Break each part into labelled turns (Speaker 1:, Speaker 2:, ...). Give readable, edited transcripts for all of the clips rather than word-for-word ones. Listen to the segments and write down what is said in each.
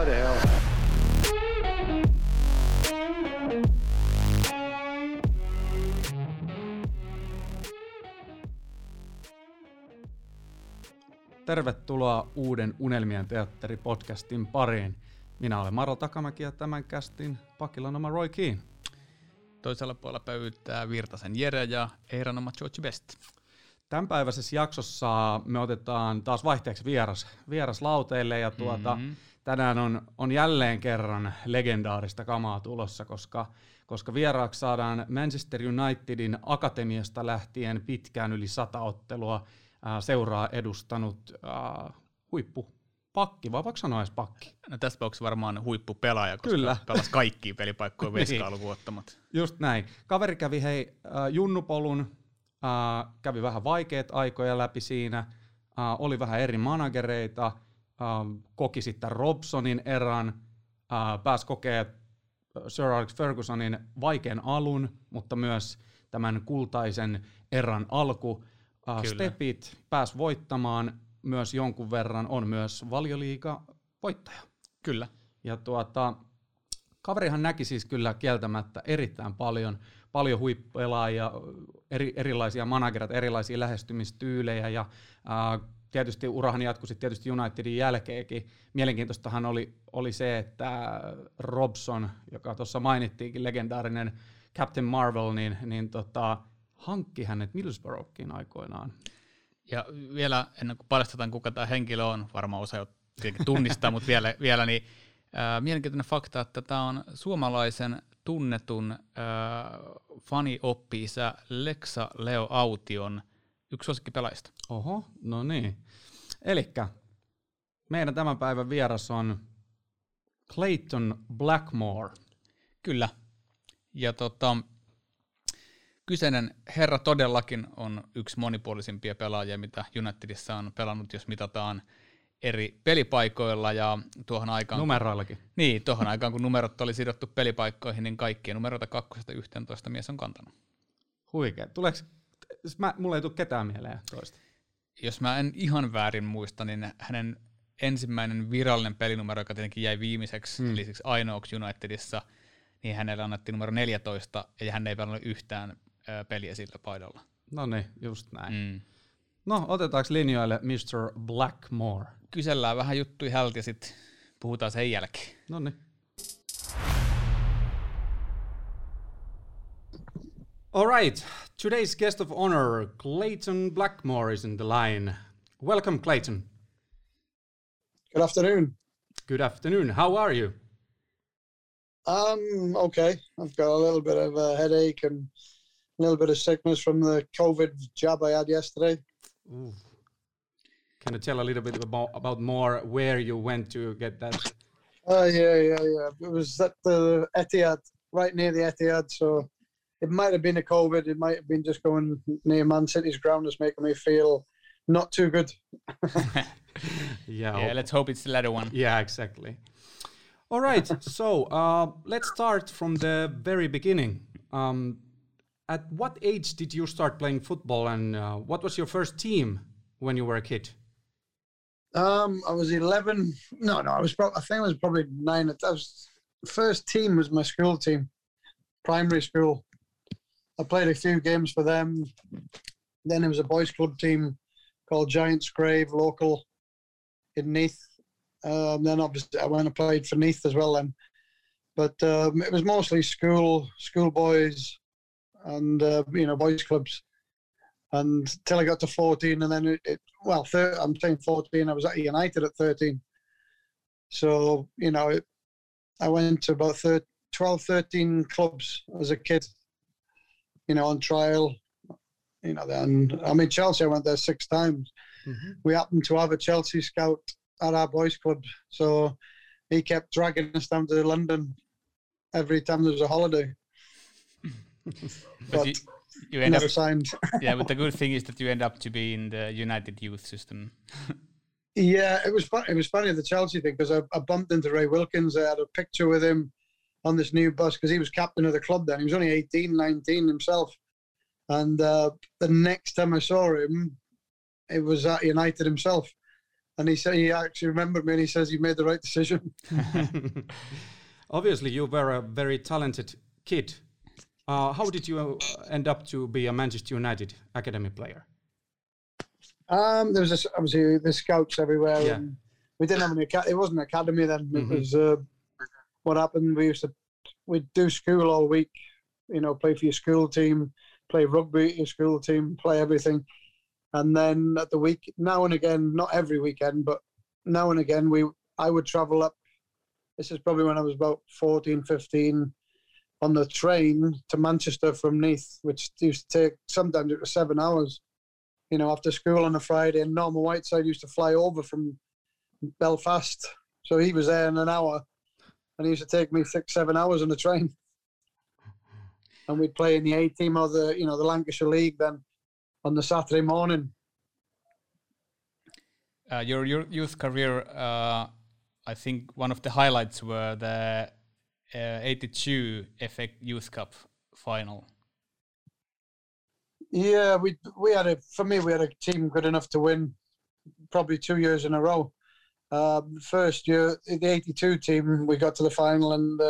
Speaker 1: What the hell?
Speaker 2: Tervetuloa uuden Unelmien teatteri-podcastin pariin. Minä olen Maro Takamäki ja tämän kästin pakilla on oma Roy Keane.
Speaker 3: Toisella puolella pöytää Virtasen Jere ja Eiran oma George Best.
Speaker 2: Tämänpäiväisessä jaksossa me otetaan taas vaihteeksi vieras lauteille ja tänään on jälleen kerran legendaarista kamaa tulossa, koska vieraaksi saadaan Manchester Unitedin akatemiasta lähtien pitkään yli 100 ottelua seuraa edustanut huippupakki, vai voiko sanoa edes pakki?
Speaker 3: No tässä tapauksessa varmaan huippupelaaja, koska
Speaker 2: Kyllä.
Speaker 3: pelasi kaikkia pelipaikkoja Veskaa lukuun ottamatta.
Speaker 2: Just näin. Kaveri kävi junnupolun, kävi vähän vaikeat aikoja läpi siinä, oli vähän eri managereita, koki sitten Robsonin eran, pääsi kokemaan Sir Alex Fergusonin vaikean alun, mutta myös tämän kultaisen eran alku. Stepit, pääsi voittamaan myös jonkun verran, on myös Valioliiga voittaja.
Speaker 3: Kyllä.
Speaker 2: Ja kaverihan näki siis kyllä kieltämättä erittäin paljon huippupelaajia, erilaisia managereita, erilaisia lähestymistyylejä ja tietysti urahan jatkui sitten tietysti Unitedin jälkeenkin. Mielenkiintoistahan oli se, että Robson, joka tuossa mainittiinkin, legendaarinen Captain Marvel, niin hankki hänet Middlesbroughkin aikoinaan.
Speaker 3: Ja vielä ennen kuin paljastetaan, kuka tämä henkilö on, varmaan osa jo tunnistaa, mutta vielä niin mielenkiintoinen fakta, että tämä on suomalaisen tunnetun fani-oppi-isä Leksa Leo Aution yksi suosikkipelaajista.
Speaker 2: Oho, no niin. Elikkä meidän tämän päivän vieras on Clayton Blackmore.
Speaker 3: Kyllä. Ja kyseinen herra todellakin on yksi monipuolisimpia pelaajia, mitä Unitedissa on pelannut, jos mitataan eri pelipaikoilla ja tuohon aikaan...
Speaker 2: Numeroillakin.
Speaker 3: Niin, tuohon aikaan kun numerot oli sidottu pelipaikkoihin, niin kaikkia numeroita 2-11 mies on kantanut.
Speaker 2: Huikea. Mulla ei tule ketään mieleen toista.
Speaker 3: Jos mä en ihan väärin muista, niin hänen ensimmäinen virallinen pelinumero, joka tietenkin jäi viimeiseksi, eli siksi ainoaksi Unitedissa, niin hänelle annettiin numero 14, ja hän ei pelannut yhtään peliä sillä paidalla.
Speaker 2: No niin, just näin. No, otetaanko linjoille Mr. Blackmore?
Speaker 3: Kysellään vähän juttuja hältä ja sitten puhutaan sen jälkeen.
Speaker 2: No niin. All right, today's guest of honor, Clayton Blackmore, is in the line. Welcome, Clayton.
Speaker 4: Good afternoon.
Speaker 2: Good afternoon. How are you?
Speaker 4: Okay. I've got a little bit of a headache and a little bit of sickness from the COVID jab I had yesterday.
Speaker 2: Ooh. Can you tell a little bit about more where you went to get that?
Speaker 4: Yeah. It was at the Etihad, right near the Etihad, so it might have been a COVID. It might have been just going near Man City's ground that's making me feel not too good.
Speaker 3: Yeah, let's hope it's the latter one.
Speaker 2: Yeah, exactly. All right, so let's start from the very beginning. At what age did you start playing football, and what was your first team when you were a kid?
Speaker 4: I was 11. No, I think I was probably 9. First team was my school team, primary school. I played a few games for them. Then there was a boys' club team called Giants Grave, local in Neath. Then obviously I went and played for Neath as well then. But it was mostly school boys and boys clubs. Until I got to 14, and then I'm saying 14. I was at United at 13. So I went to about 12, 13 clubs as a kid. On trial. Then Chelsea. I went there 6 times. Mm-hmm. We happened to have a Chelsea scout at our boys' club, so he kept dragging us down to London every time there was a holiday. but
Speaker 3: you end
Speaker 4: never
Speaker 3: up
Speaker 4: signed.
Speaker 3: Yeah, but the good thing is that you end up to be in the United youth system.
Speaker 4: Yeah, it was funny the Chelsea thing, because I bumped into Ray Wilkins. I had a picture with him on this new bus because he was captain of the club then. He was only 18, 19 himself. And the next time I saw him, it was at United himself. And he said he actually remembered me, and he says you made the right decision.
Speaker 2: Obviously, you were a very talented kid. How did you end up to be a Manchester United academy player?
Speaker 4: There was obviously the scouts everywhere.
Speaker 2: Yeah.
Speaker 4: And we didn't have it wasn't an academy then. It was what happened. We'd do school all week. Play for your school team, play rugby at your school team, play everything. And then at the week, now and again, not every weekend, but now and again, I would travel up. This is probably when I was about 14, 15, on the train to Manchester from Neath, which used to take, sometimes it was 7 hours, after school on a Friday. And Norman Whiteside used to fly over from Belfast. So he was there in an hour, and he used to take me 6-7 hours on the train. And we'd play in the A team or the Lancashire League then on the Saturday morning.
Speaker 3: Your youth career, I think one of the highlights were the 82 FA Youth Cup final.
Speaker 4: Yeah, we had a team good enough to win probably 2 years in a row. First year, the 82 team, we got to the final, and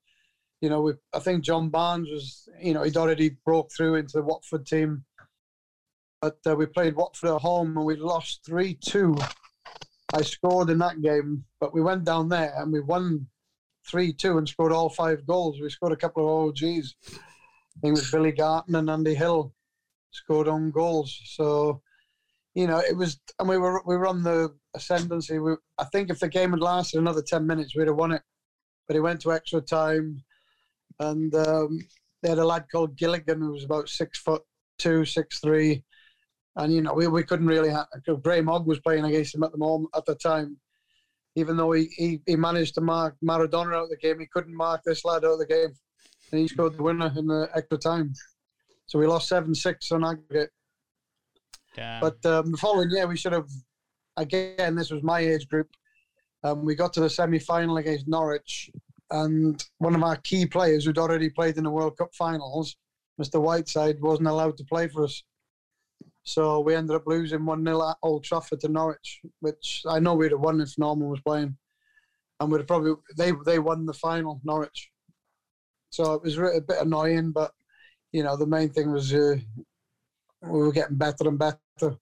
Speaker 4: I think John Barnes was, he'd already broke through into the Watford team. But we played Watford at home and we lost 3-2. I scored in that game, but we went down there and we won 3-2 and scored all 5 goals. We scored a couple of OGs. I think it was Billy Garton and Andy Hill scored own goals. So, it was, and we were on the ascendancy. I think if the game had lasted another 10 minutes, we'd have won it. But it went to extra time, and they had a lad called Gilligan who was about 6'2", 6'3". And, we couldn't really Graham Hogg was playing against him at the time. Even though he managed to mark Maradona out of the game, he couldn't mark this lad out of the game. And he scored the winner in the extra time. So we lost 7-6 on aggregate.
Speaker 3: Damn.
Speaker 4: But the following year, we should have, again, this was my age group. We got to the semi-final against Norwich. And one of our key players who'd already played in the World Cup finals, Mr. Whiteside, wasn't allowed to play for us. So we ended up losing 1-0 at Old Trafford to Norwich, which I know we'd have won if Norman was playing. And we'd have probably, they won the final, Norwich. So it was a bit annoying, but, the main thing was we were getting better and better.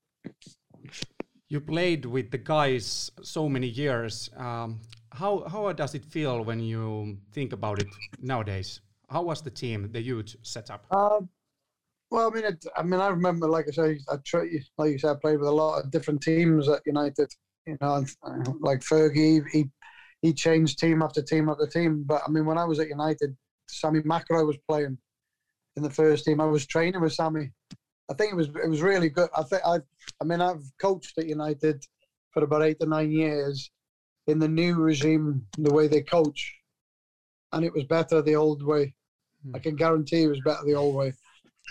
Speaker 2: You played with the guys so many years. How does it feel when you think about it nowadays? How was the team, the youth, set up?
Speaker 4: Well, I remember, like I say, like you said, I played with a lot of different teams at United. Like Fergie, he changed team after team after team. But when I was at United, Sammy McIlroy was playing in the first team. I was training with Sammy. I think it was really good. I've coached at United for about 8 to 9 years in the new regime, the way they coach, and it was better the old way. I can guarantee it was better the old way.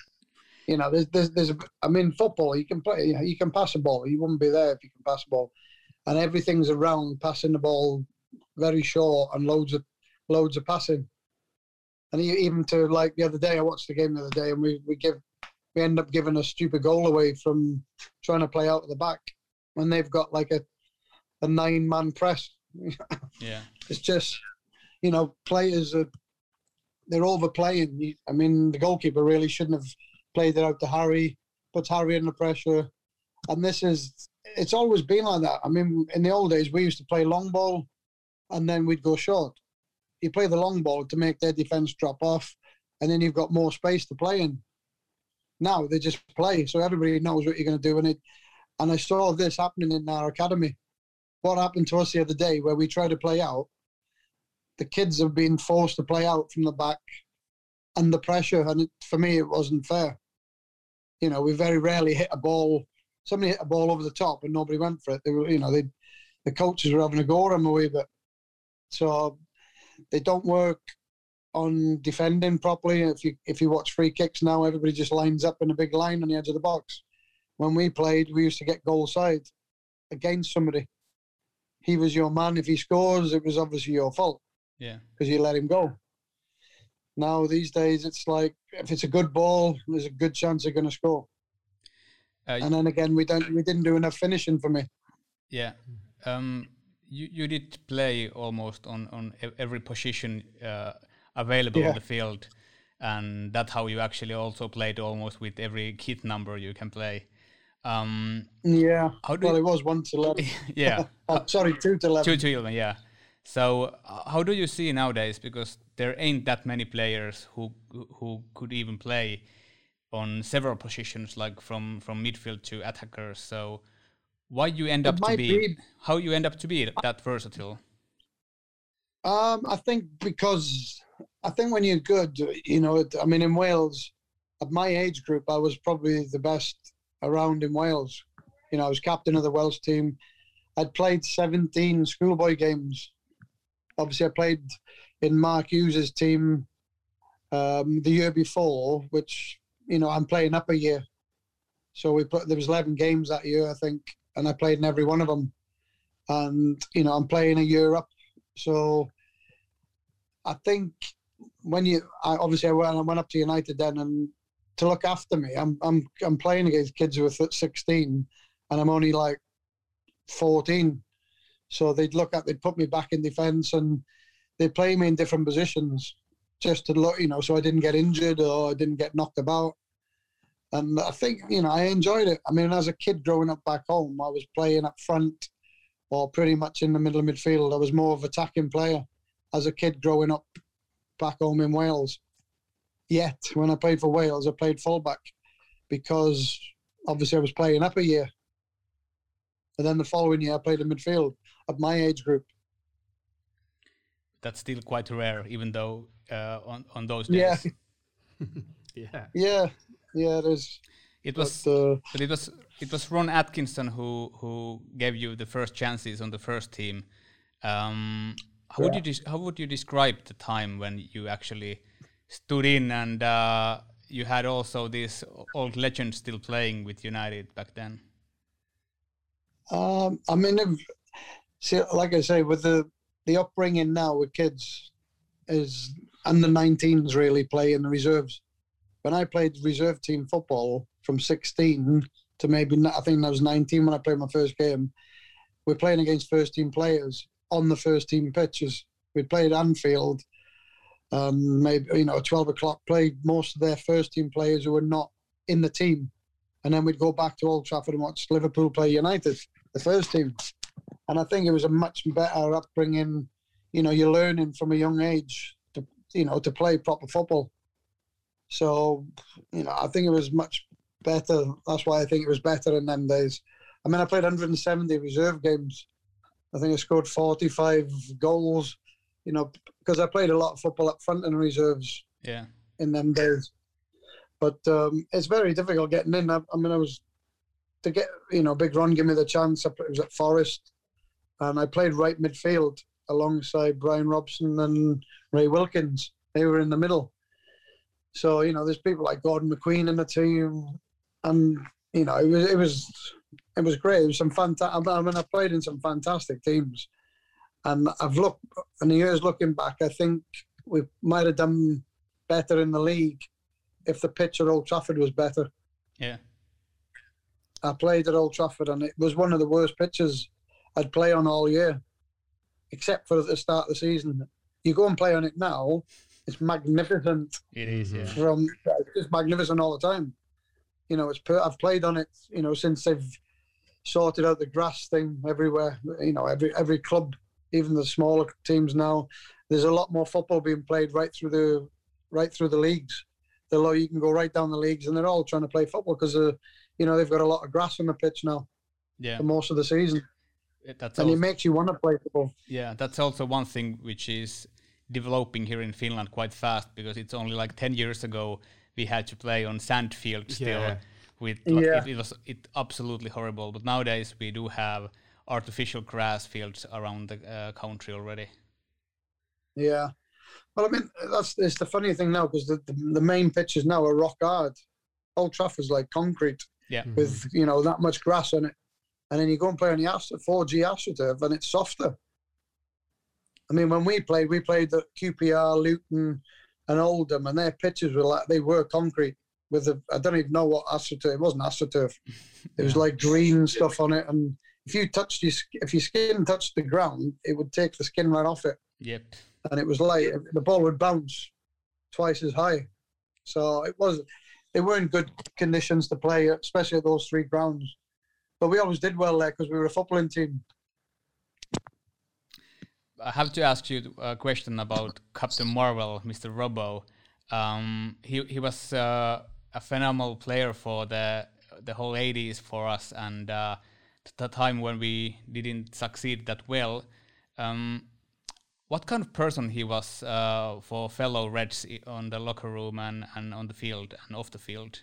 Speaker 4: Football, you can play, you can pass a ball. You wouldn't be there if you can pass a ball, and everything's around passing the ball very short and loads of passing. And even to, like, the other day, I watched the game the other day, and we end up giving a stupid goal away from trying to play out at the back when they've got like a 9-man press.
Speaker 3: Yeah,
Speaker 4: it's just, players they're overplaying. The goalkeeper really shouldn't have played it out to Harry, puts Harry under pressure. And it's always been like that. In the old days, we used to play long ball and then we'd go short. You play the long ball to make their defence drop off, and then you've got more space to play in. Now they just play, so everybody knows what you're going to do. And I saw this happening in our academy. What happened to us the other day where we tried to play out, the kids have been forced to play out from the back under pressure, and for me, it wasn't fair. We very rarely hit a ball. Somebody hit a ball over the top and nobody went for it. They were, the coaches were having a go at them a wee bit. So they don't work on defending properly. If you watch free kicks now, everybody just lines up in a big line on the edge of the box. When we played, we used to get goal side against somebody. He was your man. If he scores, it was obviously your fault.
Speaker 3: Yeah,
Speaker 4: because you let him go. Now these days, it's like if it's a good ball, there's a good chance they're going to score. And then again, we didn't do enough finishing for me.
Speaker 3: Yeah, You did play almost on every position available on the field, and that's how you actually also played almost with every kit number you can play.
Speaker 4: Yeah. It was 1 to 11.
Speaker 3: Yeah.
Speaker 4: 2 to 11.
Speaker 3: 2 to 11. Yeah. So how do you see nowadays? Because there ain't that many players who could even play on several positions, like from midfield to attackers. So how you end up to be that versatile?
Speaker 4: I think when you're good, in Wales, at my age group, I was probably the best around in Wales. I was captain of the Welsh team. I'd played 17 schoolboy games. Obviously, I played in Mark Hughes' team the year before, which, I'm playing up a year. So there was 11 games that year, I think, and I played in every one of them. And, I'm playing a year up. So I think I went up to United then, and to look after me, I'm playing against kids who are 16, and I'm only like 14. So they'd put me back in defence, and they'd play me in different positions just to look, so I didn't get injured or I didn't get knocked about. And I think, I enjoyed it. I mean, as a kid growing up back home, I was playing up front or pretty much in the middle of midfield. I was more of an attacking player as a kid growing up back home in Wales. Yet, when I played for Wales, I played fullback because obviously I was playing up a year. And then the following year, I played in midfield at my age group.
Speaker 3: That's still quite rare, even though on those days.
Speaker 4: Yeah, it is.
Speaker 3: It was, but it was Ron Atkinson who gave you the first chances on the first team. How would you describe the time when you actually stood in and you had also these old legends still playing with United back then?
Speaker 4: Like I say, with the upbringing now with kids is under 19s really play in the reserves. When I played reserve team football from 16 to maybe, I think I was 19 when I played my first game, we're playing against first team players on the first team pitches. We played Anfield, maybe, 12 o'clock, played most of their first team players who were not in the team. And then we'd go back to Old Trafford and watch Liverpool play United, the first team. And I think it was a much better upbringing. You're learning from a young age to play proper football. So, I think it was much better. That's why I think it was better in them days. I mean, I played 170 reserve games. I think I scored 45 goals, because I played a lot of football up front in reserves in them days. But it's very difficult getting in. I was to get, Big Ron gave me the chance. It was at Forest, and I played right midfield alongside Brian Robson and Ray Wilkins. They were in the middle. So, there's people like Gordon McQueen in the team, and, it was great. It was some fantastic. I played in some fantastic teams, and in the years looking back, I think we might have done better in the league if the pitch at Old Trafford was better.
Speaker 3: Yeah.
Speaker 4: I played at Old Trafford, and it was one of the worst pitches I'd play on all year, except for at the start of the season. You go and play on it now, it's magnificent.
Speaker 3: It is, yeah.
Speaker 4: It's just magnificent all the time. I've played on it, since they've sorted out the grass thing everywhere. Every club, even the smaller teams now, there's a lot more football being played right through the leagues. You can go right down the leagues, and they're all trying to play football because they've got a lot of grass on the pitch now.
Speaker 3: Yeah.
Speaker 4: For most of the season. It makes you want to play football.
Speaker 3: Yeah, that's also one thing which is developing here in Finland quite fast, because it's only like 10 years ago we had to play on sand field still. It was absolutely horrible. But nowadays we do have artificial grass fields around the country already.
Speaker 4: Yeah. Well, I mean, it's the funny thing now, because the main pitches now are rock hard. Old Trafford's like concrete with, that much grass on it. And then you go and play on the 4G AstroTurf, and it's softer. I mean, when we played at QPR, Luton and Oldham, and their pitches were concrete with I don't even know what AstroTurf. It wasn't AstroTurf. It was like green stuff on it, and if your skin touched the ground, it would take the skin right off it.
Speaker 3: Yep.
Speaker 4: And it was like the ball would bounce twice as high. So they weren't good conditions to play, especially at those 3 grounds. But we always did well there because we were a footballing team.
Speaker 3: I have to ask you a question about Captain Marvel, Mr. Robbo. He was a phenomenal player for the whole 80s for us, and the time when we didn't succeed that well. What kind of person he was for fellow Reds on the locker room and on the field and off the field?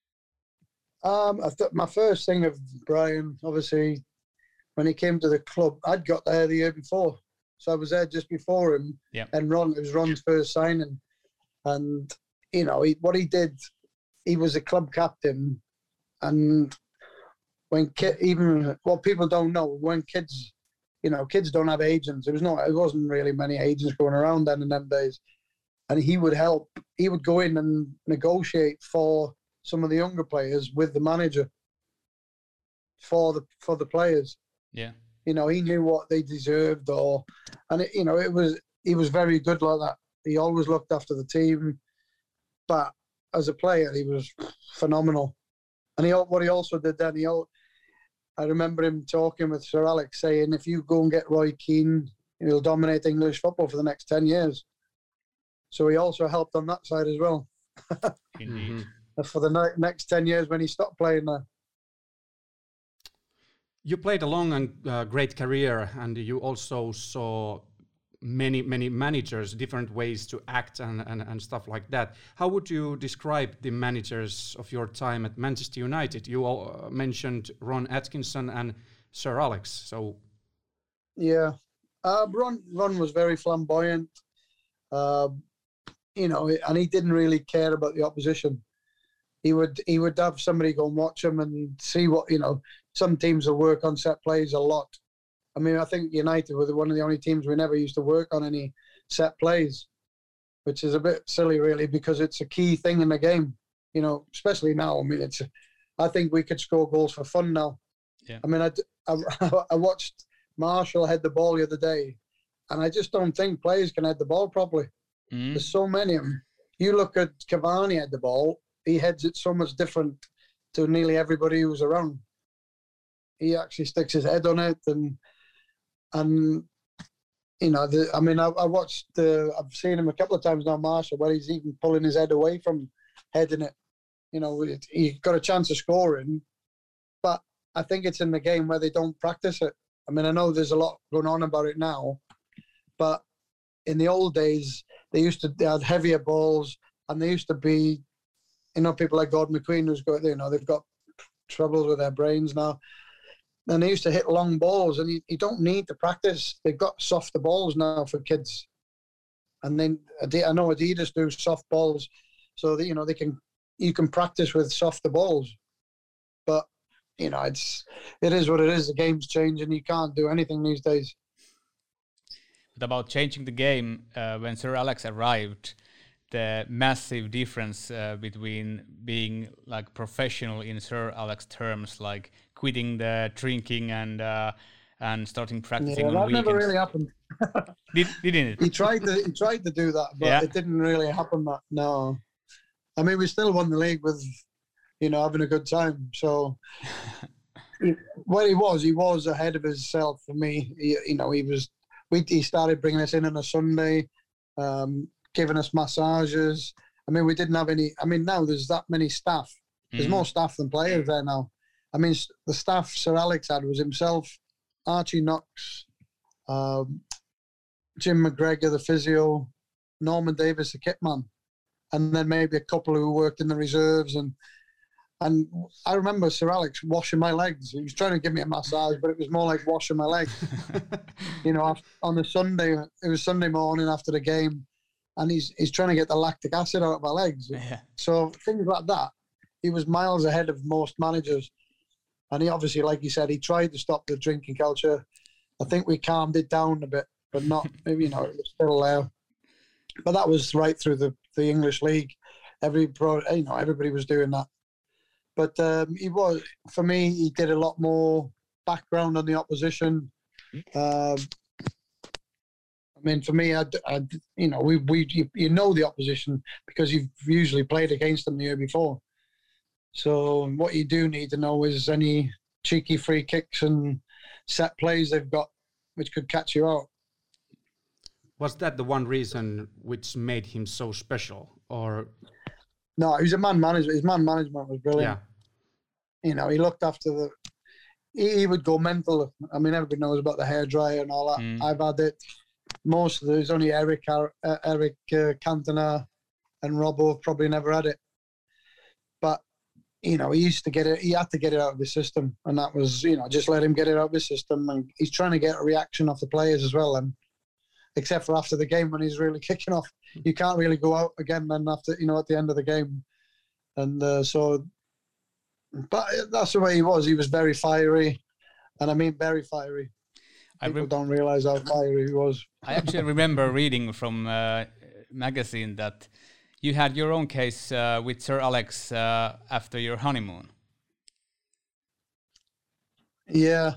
Speaker 4: My first thing of Brian, obviously, when he came to the club, I'd got there the year before. So I was there just before him.
Speaker 3: Yep.
Speaker 4: And it was Ron's first signing. And, what he did, he was a club captain. And when what people don't know, when kids don't have agents. It wasn't really many agents going around then in them days. And he would help. He would go in and negotiate for some of the younger players with the manager for the players.
Speaker 3: Yeah.
Speaker 4: He knew what they deserved, he was very good like that. He always looked after the team, but as a player, he was phenomenal. And what he also did then, I remember him talking with Sir Alex saying, if you go and get Roy Keane, he'll dominate English football for the next 10 years. So he also helped on that side as well.
Speaker 3: Indeed.
Speaker 4: For the next 10 years when he stopped playing there.
Speaker 2: You played a long and great career, and you also saw many managers, different ways to act and stuff like that. How would you describe the managers of your time at Manchester United? You all mentioned Ron Atkinson and Sir Alex. So,
Speaker 4: yeah, Ron was very flamboyant, and he didn't really care about the opposition. He would have somebody go and watch him and see what Some teams will work on set plays a lot. I mean, I think United were one of the only teams we never used to work on any set plays, which is a bit silly, really, because it's a key thing in the game. Especially now. I mean, I think we could score goals for fun now.
Speaker 3: Yeah.
Speaker 4: I mean, I watched Marshall head the ball the other day, and I just don't think players can head the ball properly. There's so many of them. You look at Cavani head the ball; he heads it so much different to nearly everybody who's around. He actually sticks his head on it, and I watched. I've seen him a couple of times now, Marshall, where he's even pulling his head away from heading it. He got a chance of scoring, but I think it's in the game where they don't practice it. I mean, I know there's a lot going on about it now, but in the old days, they had heavier balls, and they used to be, people like Gordon McQueen who's got, they've got troubles with their brains now. And they used to hit long balls, and you don't need to practice. They've got softer balls now for kids. And then I know Adidas do soft balls, so that, you can practice with softer balls. But, it is what it is. The game's changing. You can't do anything these days.
Speaker 3: But about changing the game, when Sir Alex arrived, the massive difference between being like professional in Sir Alex terms, like quitting the drinking and starting practicing on
Speaker 4: that
Speaker 3: weekends.
Speaker 4: Never really happened.
Speaker 3: Didn't it?
Speaker 4: He tried to do that, but it didn't really happen. No, I mean, we still won the league with, having a good time. So, well, he was ahead of himself for me. He started bringing us in on a Sunday, giving us massages. I mean, we didn't have any. I mean, now there's that many staff. There's more staff than players there now. I mean, the staff Sir Alex had was himself, Archie Knox, Jim McGregor, the physio, Norman Davis, the kitman, and then maybe a couple who worked in the reserves. And I remember Sir Alex washing my legs. He was trying to give me a massage, but it was more like washing my legs. On the Sunday, it was Sunday morning after the game, and he's trying to get the lactic acid out of my legs.
Speaker 3: Yeah.
Speaker 4: So things like that. He was miles ahead of most managers. And he obviously, like you said, he tried to stop the drinking culture. I think we calmed it down a bit, but not, it was still there. But that was right through the English league. Everybody was doing that. But for me, he did a lot more background on the opposition. I mean, for me, you know, you know the opposition because you've usually played against them the year before. So what you do need to know is any cheeky free kicks and set plays they've got, which could catch you out.
Speaker 2: Was that the one reason which made him so special, or?
Speaker 4: No, he was a man manager. His man management was brilliant.
Speaker 2: Yeah.
Speaker 4: You know, he looked after he would go mental. I mean, everybody knows about the hairdryer and all that. I've had it. Most of there's only Eric Cantona and Robbo have probably never had it. But, you know, he used to get it. He had to get it out of his system. And that was, you know, just let him get it out of his system. And he's trying to get a reaction off the players as well. And except for after the game when he's really kicking off, you can't really go out again then after, you know, at the end of the game. And but that's the way he was. He was very fiery. And I mean, very fiery. People don't realize how fiery he was.
Speaker 3: I actually remember reading from a magazine that you had your own case with Sir Alex after your honeymoon.
Speaker 4: Yeah.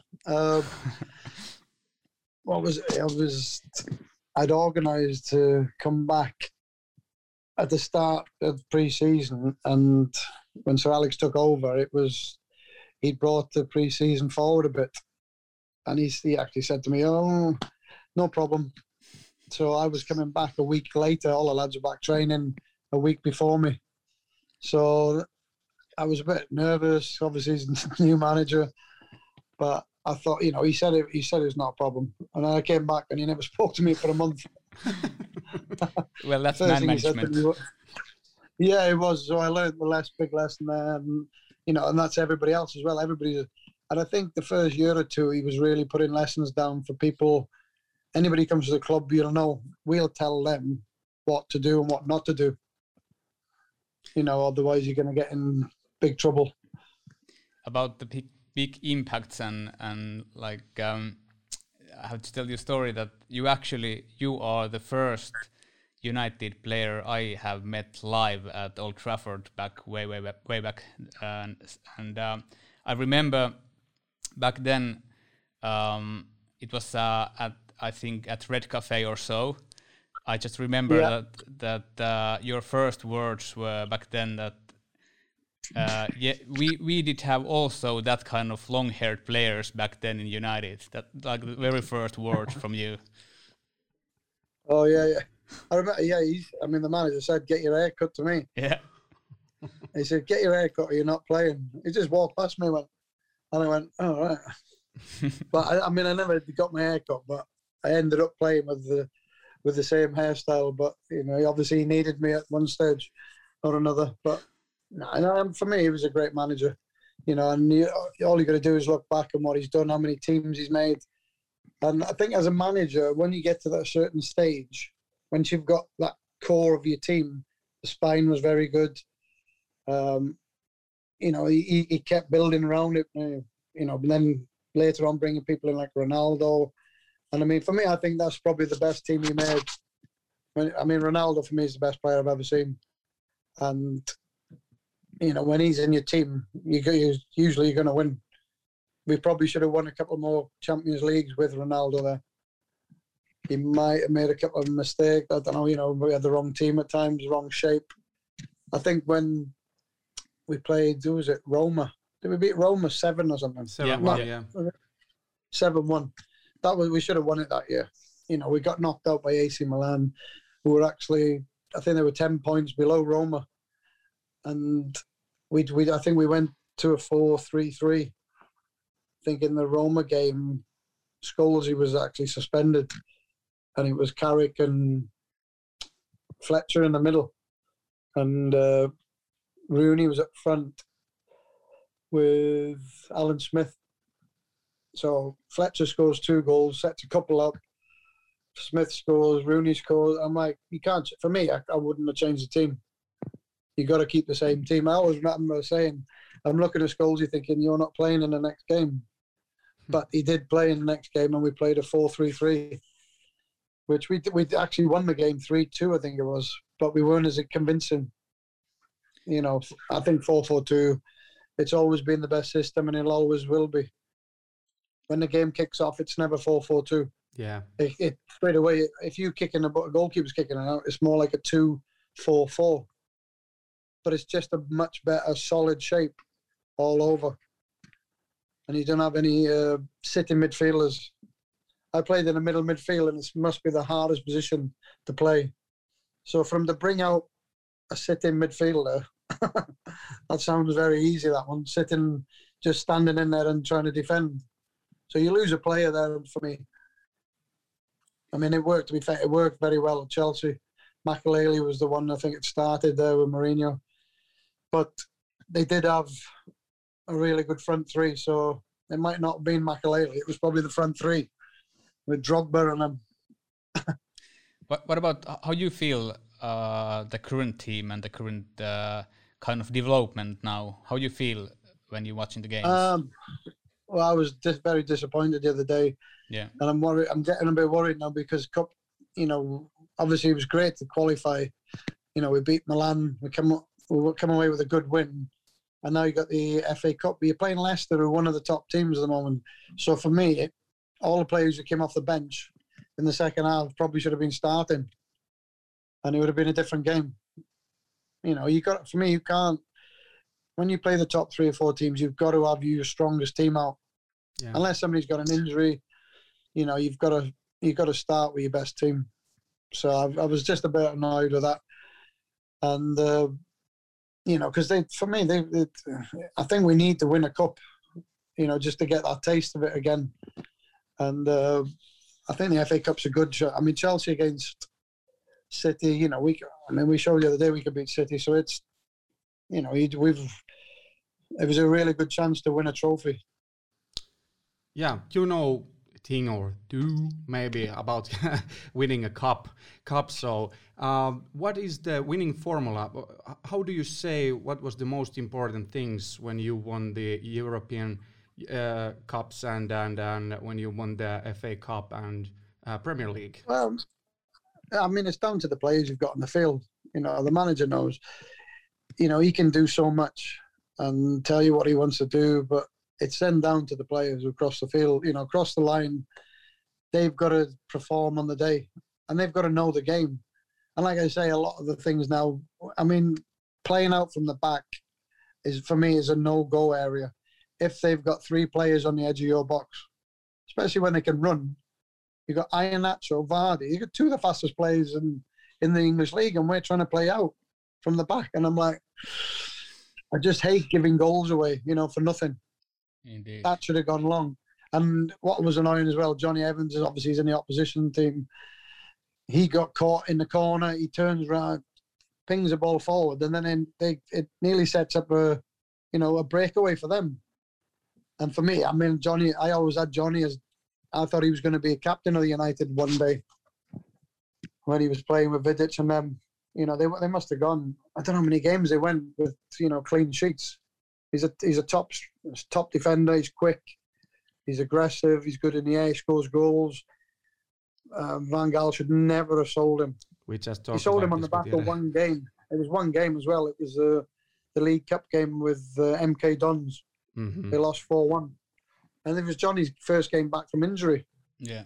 Speaker 4: What was it? I'd organised to come back at the start of pre-season, and when Sir Alex took over, he'd brought the pre-season forward a bit. And he actually said to me, "Oh, no problem." So I was coming back a week later. All the lads were back training a week before me. So I was a bit nervous. Obviously, he's a new manager. But I thought, you know, he said it was not a problem. And then I came back and he never spoke to me for a month.
Speaker 3: Well, that's man management.
Speaker 4: Yeah, it was. So I learned the big lesson there. And, you know, and that's everybody else as well. And I think the first year or two, he was really putting lessons down for people. Anybody comes to the club, you'll know, we'll tell them what to do and what not to do. You know, otherwise you're going to get in big trouble.
Speaker 3: About the big impacts and like, I have to tell you a story that you are the first United player I have met live at Old Trafford way back. And I remember back then, it was I think at Red Cafe or so. I just remember that your first words were back then that we did have also that kind of long-haired players back then in United. That like the very first words from you.
Speaker 4: Oh yeah. I remember. Yeah, the manager said, "Get your hair cut" to me.
Speaker 3: Yeah.
Speaker 4: He said, "Get your hair cut, or you're not playing." He just walked past me, and I went, "Oh right." But I never got my hair cut, but I ended up playing with the same hairstyle. But you know, obviously he needed me at one stage or another. But no, for me, he was a great manager. You know, and all you got to do is look back on what he's done, how many teams he's made. And I think as a manager, when you get to that certain stage, once you've got that core of your team, the spine was very good. You know, he kept building around it. You know, and then later on bringing people in like Ronaldo. And I mean, for me, I think that's probably the best team he made. Ronaldo for me is the best player I've ever seen. And, you know, when he's in your team, usually you're going to win. We probably should have won a couple more Champions Leagues with Ronaldo there. He might have made a couple of mistakes. I don't know, you know, we had the wrong team at times, wrong shape. I think when we played, who was it, Roma? Did we beat Roma 7 or something?
Speaker 2: 7-1, yeah.
Speaker 4: 7-1. We should have won it that year. You know, we got knocked out by AC Milan, who were actually, I think they were 10 points below Roma. And I think we went to a 4-3-3. I think in the Roma game, Scholesy was actually suspended. And it was Carrick and Fletcher in the middle. And Rooney was up front with Alan Smith. So Fletcher scores 2 goals, sets a couple up. Smith scores, Rooney scores. I'm like, you can't. For me, I wouldn't have changed the team. You got to keep the same team. I always remember saying, I'm looking at Scholesy thinking, you're not playing in the next game. But he did play in the next game, and we played a 4-3-3, which we actually won the game 3-2, I think it was. But we weren't as convincing. You know, I think 4-4-2, it's always been the best system, and it always will be. when the game kicks off, it's never 4-4-2.
Speaker 2: Yeah.
Speaker 4: It straight away, if you kick in a goalkeeper's kicking it out, it's more like a 2-4-4. But it's just a much better solid shape all over. And you don't have any sitting midfielders. I played in a middle midfield, and it must be the hardest position to play. So from to bring out a sitting midfielder, that sounds very easy, that one, sitting, just standing in there and trying to defend. So you lose a player there for me. I mean, it worked, to be fair, it worked very well at Chelsea. Makelele was the one, I think it started there with Mourinho. But they did have a really good front three, so it might not have been Makelele. It was probably the front three with Drogba and them.
Speaker 3: What about how you feel the current team and the current kind of development now? How you feel when you're watching the games?
Speaker 4: Well, I was very disappointed the other day.
Speaker 3: Yeah.
Speaker 4: And I'm worried. I'm getting a bit worried now because Cup, obviously it was great to qualify. We beat Milan. We come away with a good win. And now you got the FA Cup. But you're playing Leicester, who are one of the top teams at the moment. So for me, all the players who came off the bench in the second half probably should have been starting. And it would have been a different game. You can't. When you play the top 3 or 4 teams, you've got to have your strongest team out. Yeah. Unless somebody's got an injury, you've got to start with your best team. So I was just a bit annoyed with that, and because I think we need to win a cup, just to get that taste of it again. And I think the FA Cup's a good shot. I mean, Chelsea against City, we showed the other day we could beat City, so it's. It was a really good chance to win a trophy.
Speaker 2: Yeah, thing or two maybe about winning a cup. So, what is the winning formula? How do you say what was the most important things when you won the European cups and when you won the FA Cup and Premier League?
Speaker 4: Well, I mean, it's down to the players you've got on the field. The manager knows. He can do so much and tell you what he wants to do, but it's then down to the players who cross the field, across the line. They've got to perform on the day, and they've got to know the game. And like I say, a lot of the things now, I mean, playing out from the back for me is a no-go area. If they've got 3 players on the edge of your box, especially when they can run, you've got Iheanacho, Vardy, you've got 2 of the fastest players in the English league, and we're trying to play out from the back. And I'm like, I just hate giving goals away, for nothing.
Speaker 3: Indeed.
Speaker 4: That should have gone long. And what was annoying as well, Johnny Evans is obviously he's in the opposition team. He got caught in the corner. He turns around, pings the ball forward, and then it nearly sets up a breakaway for them. And for me, I mean, Johnny, I always had Johnny as, I thought he was going to be a captain of the United one day when he was playing with Vidic and them. They must have gone, I don't know how many games they went with, clean sheets. He's a top defender. He's quick. He's aggressive. He's good in the air. He scores goals. Van Gaal should never have sold him.
Speaker 2: We just
Speaker 4: he sold him on the back of one game. It was one game as well. It was the League Cup game with MK Dons. Mm-hmm. They lost 4-1. And it was Johnny's first game back from injury.
Speaker 3: Yeah.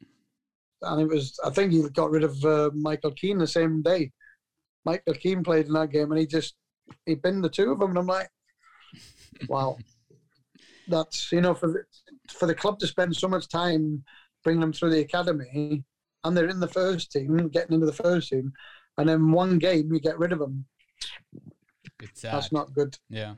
Speaker 4: And I think he got rid of Michael Keane the same day. Michael Keane played in that game, and he binned the 2 of them. And I'm like, wow. That's, for the club to spend so much time bringing them through the academy, and they're in the first team, getting into the first team, and then one game you get rid of them.
Speaker 3: It's sad.
Speaker 4: That's not good.
Speaker 3: Yeah.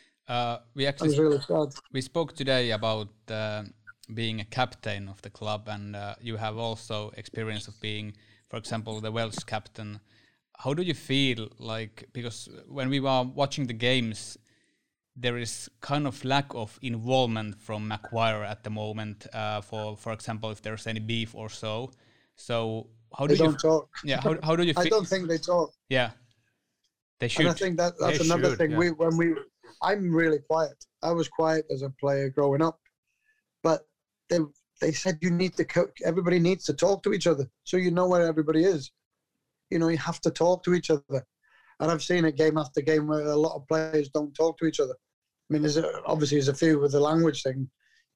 Speaker 4: Really sad.
Speaker 3: We spoke today about being a captain of the club, and you have also experience of being, for example, the Welsh captain. How do you feel because when we were watching the games, there is kind of lack of involvement from Maguire at the moment, for example, if there's any beef or so. So how do
Speaker 4: they don't talk.
Speaker 3: Yeah, how do you feel?
Speaker 4: I don't think they talk.
Speaker 3: Yeah. They should.
Speaker 4: And I think that's another thing. Yeah. I'm really quiet. I was quiet as a player growing up, but they said everybody needs to talk to each other, so you know where everybody is. You have to talk to each other, and I've seen it game after game where a lot of players don't talk to each other. I mean, there's a few with the language thing.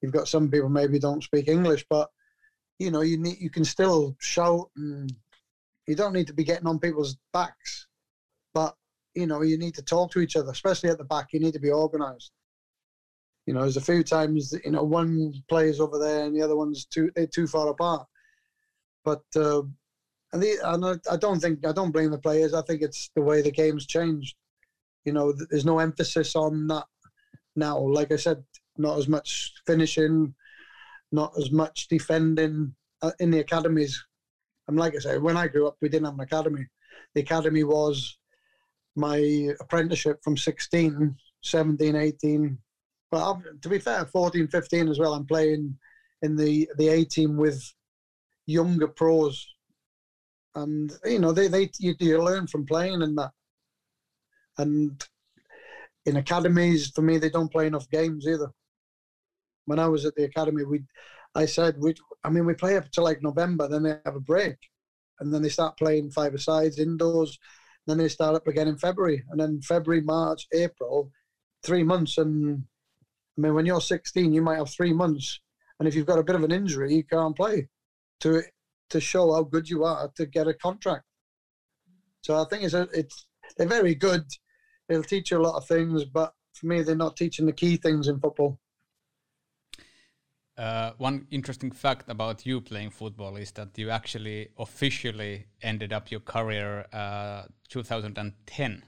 Speaker 4: you've got some people maybe don't speak English, but you can still shout, and you don't need to be getting on people's backs, but you need to talk to each other, especially at the back. You need to be organised. There's a few times one player's over there and the other one's too far apart. But I don't blame the players. I think it's the way the game's changed. There's no emphasis on that now. Like I said, not as much finishing, not as much defending in the academies. And like I say, when I grew up, we didn't have an academy. The academy was my apprenticeship from 16, 17, 18. But to be fair, 14, 15 as well. I'm playing in the A team with younger pros. And, you learn from playing in that. And in academies, for me, they don't play enough games either. When I was at the academy, we play up to like November, then they have a break. And then they start playing five-a-sides indoors. Then they start up again in February. And then February, March, April, 3 months. And when you're 16, you might have 3 months. And if you've got a bit of an injury, you can't play to show how good you are to get a contract. So I think they're very good. They'll teach you a lot of things, but for me, they're not teaching the key things in football.
Speaker 3: One interesting fact about you playing football is that you actually officially ended up your career 2010.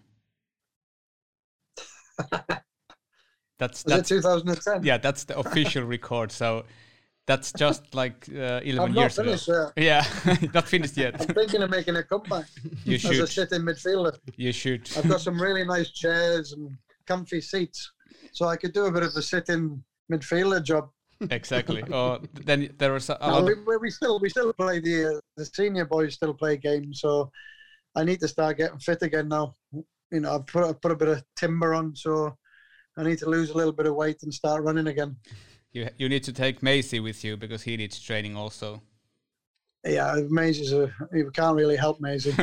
Speaker 3: That's
Speaker 4: it 2010?
Speaker 3: Yeah, that's the official record. So that's just like 11 years ago.
Speaker 4: Finished,
Speaker 3: yeah, not finished yet.
Speaker 4: I'm thinking of making a comeback
Speaker 3: You should.
Speaker 4: as a sitting midfielder.
Speaker 3: You should.
Speaker 4: I've got some really nice chairs and comfy seats, so I could do a bit of a sitting midfielder job.
Speaker 3: Exactly. Then there was a
Speaker 4: no,
Speaker 3: lot.
Speaker 4: We still play the senior boys still play games, so I need to start getting fit again now. I've put a bit of timber on, so I need to lose a little bit of weight and start running again.
Speaker 3: You need to take Maisie with you because he needs training also.
Speaker 4: Yeah, you can't really help Maisie.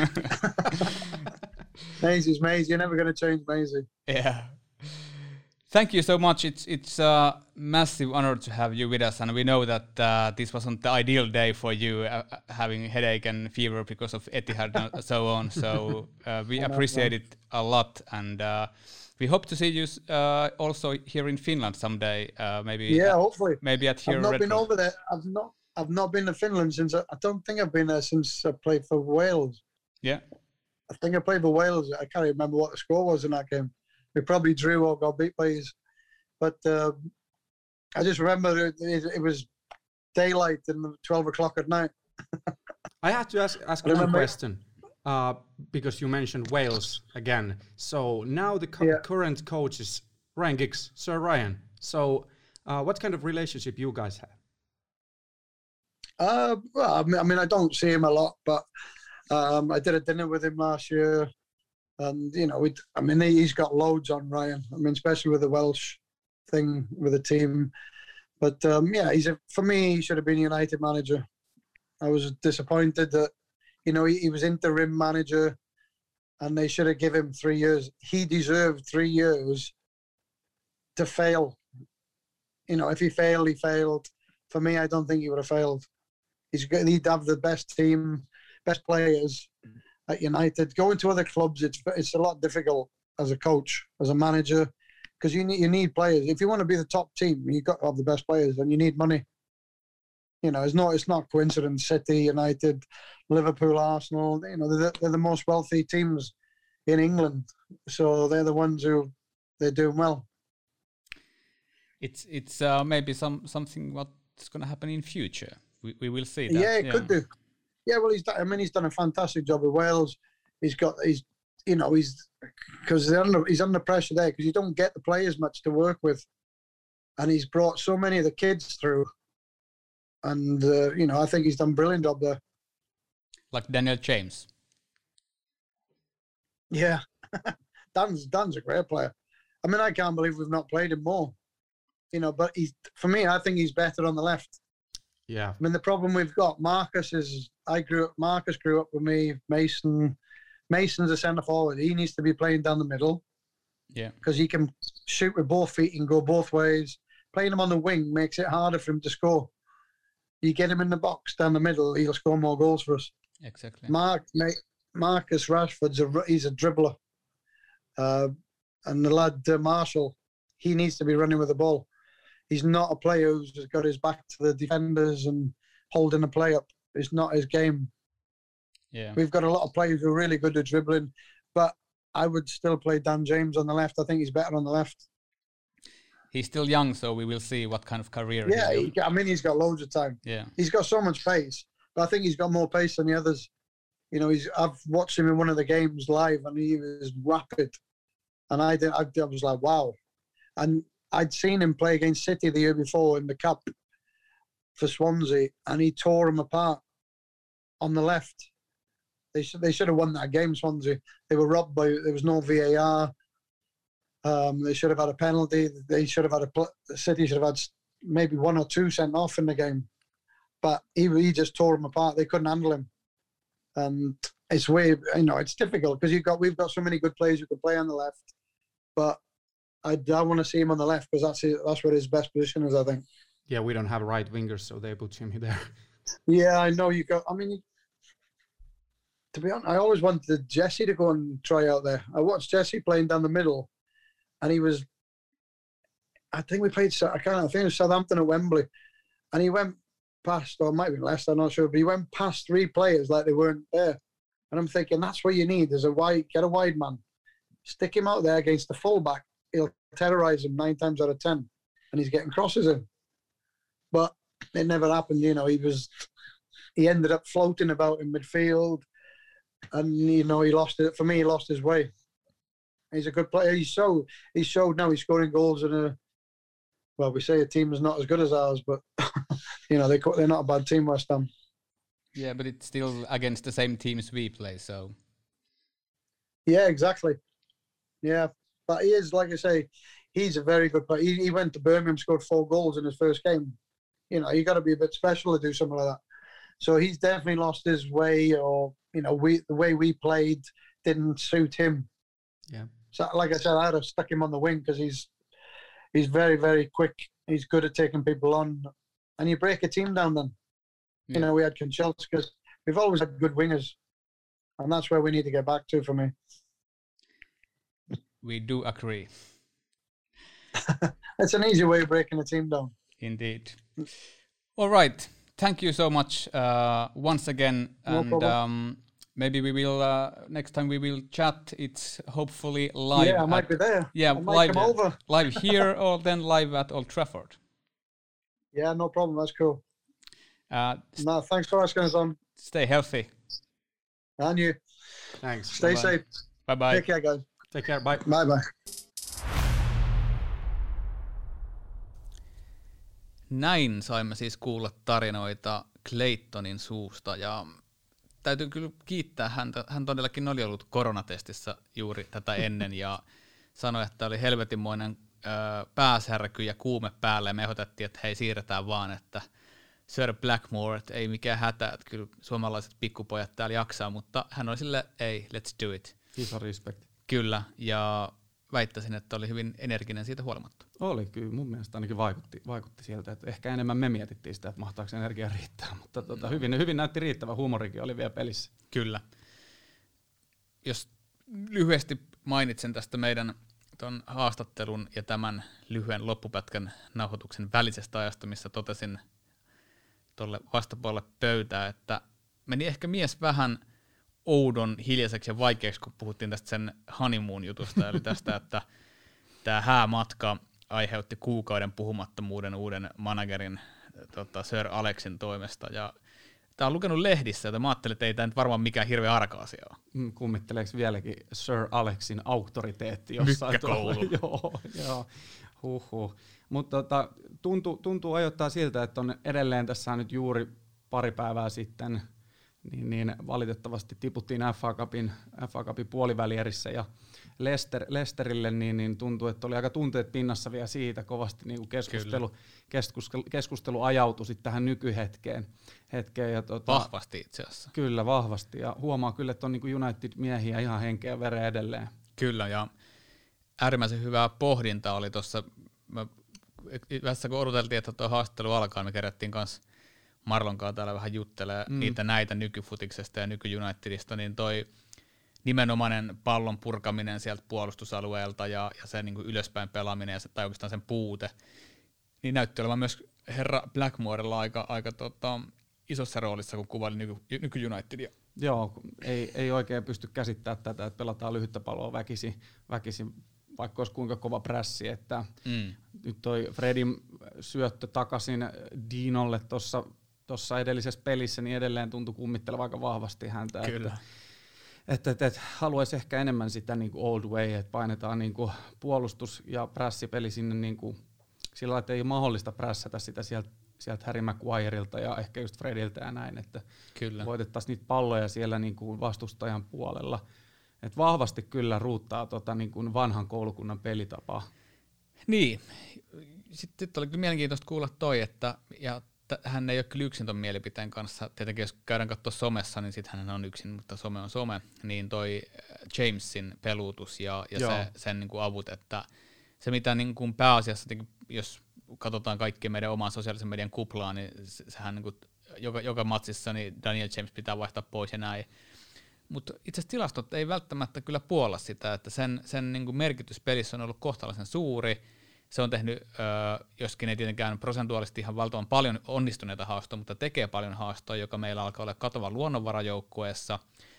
Speaker 4: Maisie's Maisie. You're never going to change Maisie.
Speaker 3: Yeah. Thank you so much. It's a massive honor to have you with us, and we know that this wasn't the ideal day for you, having headache and fever because of Etihad and so on. So we appreciate it a lot, and we hope to see you also here in Finland someday. Maybe.
Speaker 4: Yeah, hopefully.
Speaker 3: Maybe at here.
Speaker 4: I've not been over there. I've not been to Finland since. I don't think I've been there since I played for Wales.
Speaker 3: Yeah.
Speaker 4: I think I played for Wales. I can't remember what the score was in that game. We probably drew or got beat by us. But I just remember it was daylight and 12 o'clock at night.
Speaker 2: I have to ask one question because you mentioned Wales again. So now the current coach is Ryan Giggs, Sir Ryan. So what kind of relationship you guys have?
Speaker 4: Well, I don't see him a lot, but I did a dinner with him last year. And, he's got loads on Ryan. Especially with the Welsh thing with the team. But, for me, he should have been United manager. I was disappointed that, he was interim manager and they should have given him 3 years. He deserved 3 years to fail. If he failed, he failed. For me, I don't think he would have failed. He'd have the best team, best players at United. Going to other clubs, it's a lot difficult as a coach, as a manager, because you need players. If you want to be the top team, you've got to have the best players, and you need money. It's not coincidence. City, United, Liverpool, Arsenal. They're the most wealthy teams in England, so they're the ones who they're doing well.
Speaker 3: It's maybe something what's going to happen in future. We will see that.
Speaker 4: Yeah, it could do. Yeah, well, he's done a fantastic job with Wales. He's because he's under pressure there because you don't get the players much to work with, and he's brought so many of the kids through, and I think he's done a brilliant job there.
Speaker 3: Like Daniel James.
Speaker 4: Yeah, Dan's a great player. I can't believe we've not played him more. But for me, I think he's better on the left.
Speaker 2: Yeah.
Speaker 4: The problem we've got, Marcus grew up with me. Mason's a centre forward. He needs to be playing down the middle.
Speaker 3: Yeah.
Speaker 4: Because he can shoot with both feet and go both ways. playing him on the wing makes it harder for him to score. You get him in the box down the middle, he'll score more goals for us.
Speaker 3: Exactly.
Speaker 4: Marcus Rashford's he's a dribbler. And the lad Marshall, he needs to be running with the ball. He's not a player who's just got his back to the defenders and holding the play up. It's not his game.
Speaker 3: Yeah.
Speaker 4: We've got a lot of players who are really good at dribbling, but I would still play Dan James on the left. I think he's better on the left.
Speaker 3: He's still young, so we will see what kind of career
Speaker 4: he's got loads of time.
Speaker 3: Yeah.
Speaker 4: He's got so much pace, but I think he's got more pace than the others. You know, I've watched him in one of the games live, and he was rapid. And I was like, wow. And I'd seen him play against City the year before in the Cup for Swansea, and he tore him apart on the left. They should have won that game, Swansea. They were robbed there was no VAR. They should have had a penalty. They should have had City should have had maybe 1 or 2 sent off in the game. But he just tore him apart. They couldn't handle him. And it's it's difficult because we've got so many good players who can play on the left. But I want to see him on the left because that's where his best position is, I think.
Speaker 2: Yeah, we don't have right wingers, so they put Jimmy there.
Speaker 4: Yeah, I know to be honest, I always wanted Jesse to go and try out there. I watched Jesse playing down the middle, and I think we played, I think it was Southampton at Wembley, and he went past, or it might have been Leicester, I'm not sure, but he went past 3 players like they weren't there. And I'm thinking, that's what you need. There's get a wide man. Stick him out there against the fullback. He'll terrorise him 9 times out of 10, and he's getting crosses in. But it never happened. You know, he ended up floating about in midfield, and he lost it. For me, he lost his way. He's a good player. He showed now he's scoring goals in we say a team is not as good as ours, but they're not a bad team, West Ham.
Speaker 3: Yeah, but it's still against the same teams we play, so.
Speaker 4: Yeah, exactly. Yeah, but he is, like I say, he's a very good player. He went to Birmingham, scored 4 goals in his first game. You got to be a bit special to do something like that. So he's definitely lost his way, or the way we played didn't suit him.
Speaker 2: Yeah.
Speaker 4: So, like I said, I'd have stuck him on the wing because he's very, very quick. He's good at taking people on, and you break a team down. Then, we had Kanchelskis. We've always had good wingers, and that's where we need to get back to. For me,
Speaker 3: we do agree.
Speaker 4: It's an easy way of breaking a team down.
Speaker 3: Indeed. All right. Thank you so much once again.
Speaker 4: No
Speaker 3: problem. Maybe we will next time we will chat. It's hopefully live.
Speaker 4: Yeah, I might be there.
Speaker 3: Yeah,
Speaker 4: I might come over.
Speaker 3: Live here or then live at Old Trafford.
Speaker 4: Yeah, no problem. That's cool. No, thanks for asking us on.
Speaker 3: Stay healthy.
Speaker 4: And you.
Speaker 2: Thanks.
Speaker 4: Stay safe.
Speaker 3: Bye-bye.
Speaker 4: Take care, guys.
Speaker 2: Take care. Bye.
Speaker 4: Bye-bye.
Speaker 3: Näin saimme siis kuulla tarinoita Claytonin suusta, ja täytyy kyllä kiittää häntä. Hän todellakin oli ollut koronatestissä juuri tätä ennen ja sanoi, että oli helvetinmoinen pääsärky ja kuume päällä, ja me ehdotettiin, että hei, siirretään vaan, että Sir Blackmore, että ei mikään hätä, että kyllä suomalaiset pikkupojat täällä jaksaa, mutta hän oli silleen, ei, let's do it.
Speaker 2: Iso respect.
Speaker 3: Kyllä, ja väittäisin, että oli hyvin energinen siitä huolimatta.
Speaker 2: Oli kyllä, mun mielestä ainakin vaikutti sieltä, että ehkä enemmän me mietittiin sitä, että mahtaako energia riittää, mutta hyvin näytti riittävä, huumorikin oli vielä pelissä.
Speaker 3: Kyllä. Jos lyhyesti mainitsen tästä meidän ton haastattelun ja tämän lyhyen loppupätkän nauhoituksen välisestä ajasta, missä totesin tuolle vastapuolelle pöytää, että meni ehkä mies vähän oudon, hiljaiseksi ja vaikeaksi, kun puhuttiin tästä sen honeymoon-jutusta, eli tästä, että tämä häämatka aiheutti kuukauden puhumattomuuden uuden managerin Sir Alexin toimesta, ja tämä on lukenut lehdissä, joten mä ajattelin, että ei tämä nyt varmaan mikään hirveän arka asia ole.
Speaker 2: Kummitteleeko vieläkin Sir Alexin auktoriteetti jossain
Speaker 3: Mykkäkoulu.
Speaker 2: Joo, huhhuh. Mutta tuntuu ajoittaa siltä, että on edelleen tässä nyt juuri pari päivää sitten, niin valitettavasti tiputtiin FA Cupin puolivälierissä ja Leicesterille, niin tuntuu, että oli aika tunteet pinnassa vielä siitä, kovasti niin keskustelu ajautui sitten tähän nykyhetkeen. Ja
Speaker 3: vahvasti itse asiassa.
Speaker 2: Kyllä, vahvasti, ja huomaa kyllä, että on niin United-miehiä ihan henkeä veren edelleen.
Speaker 3: Kyllä, ja äärimmäisen hyvää pohdintaa oli tuossa, mä Tässä kun odoteltiin, että tuo haastattelu alkaa, me kerättiin kanssa Marlonkaan täällä vähän juttelee näitä nykyfutiksesta ja nyky-Unitedista, niin toi nimenomainen pallon purkaminen sieltä puolustusalueelta ja se niin kuin ylöspäin pelaaminen tai oikeastaan sen puute, niin näytti olevan myös herra Blackmorella aika isossa roolissa, kun kuvaili nyky-Unitedia.
Speaker 2: Joo, ei oikein pysty käsittämään tätä, että pelataan lyhyttä palloa väkisin vaikka olisi kuinka kova prässi, että nyt toi Fredin syöttö takaisin Dinolle tuossa edellisessä pelissä, niin edelleen tuntui kummitteleva aika vahvasti häntä.
Speaker 3: Kyllä.
Speaker 2: Että haluaisi ehkä enemmän sitä niin kuin old way, että painetaan niin kuin puolustus- ja prässipeli sinne niin kuin sillä lailla, että ei ole mahdollista prässätä sitä sieltä Harry Maguireilta ja ehkä just Frediltä ja näin, että
Speaker 3: kyllä.
Speaker 2: voitettaisiin niitä palloja siellä niin kuin vastustajan puolella. Et vahvasti kyllä ruuttaa niin kuin vanhan koulukunnan pelitapaa.
Speaker 3: Niin. Sitten oli kyllä mielenkiintoista kuulla toi, että hän ei ole kyllä yksin ton mielipiteen kanssa. Tietenkin jos käydään katsoa somessa, niin sitten hän on yksin, mutta some on some. Niin toi Jamesin peluutus ja sen niin kuin avut, että se mitä niin kuin pääasiassa, jos katsotaan kaikkea meidän oman sosiaalisen median kuplaa, niin sehän niin kuin joka matsissa niin Daniel James pitää vaihtaa pois ja näin. Mutta itse asiassa tilastot ei välttämättä kyllä puolla sitä, että sen niin kuin merkitys pelissä on ollut kohtalaisen suuri. Se on tehnyt, joskin ei tietenkään prosentuaalisesti ihan valtavan paljon onnistuneita haastoja, mutta tekee paljon haastoja, joka meillä alkaa olla katova luonnonvarajoukkueessa.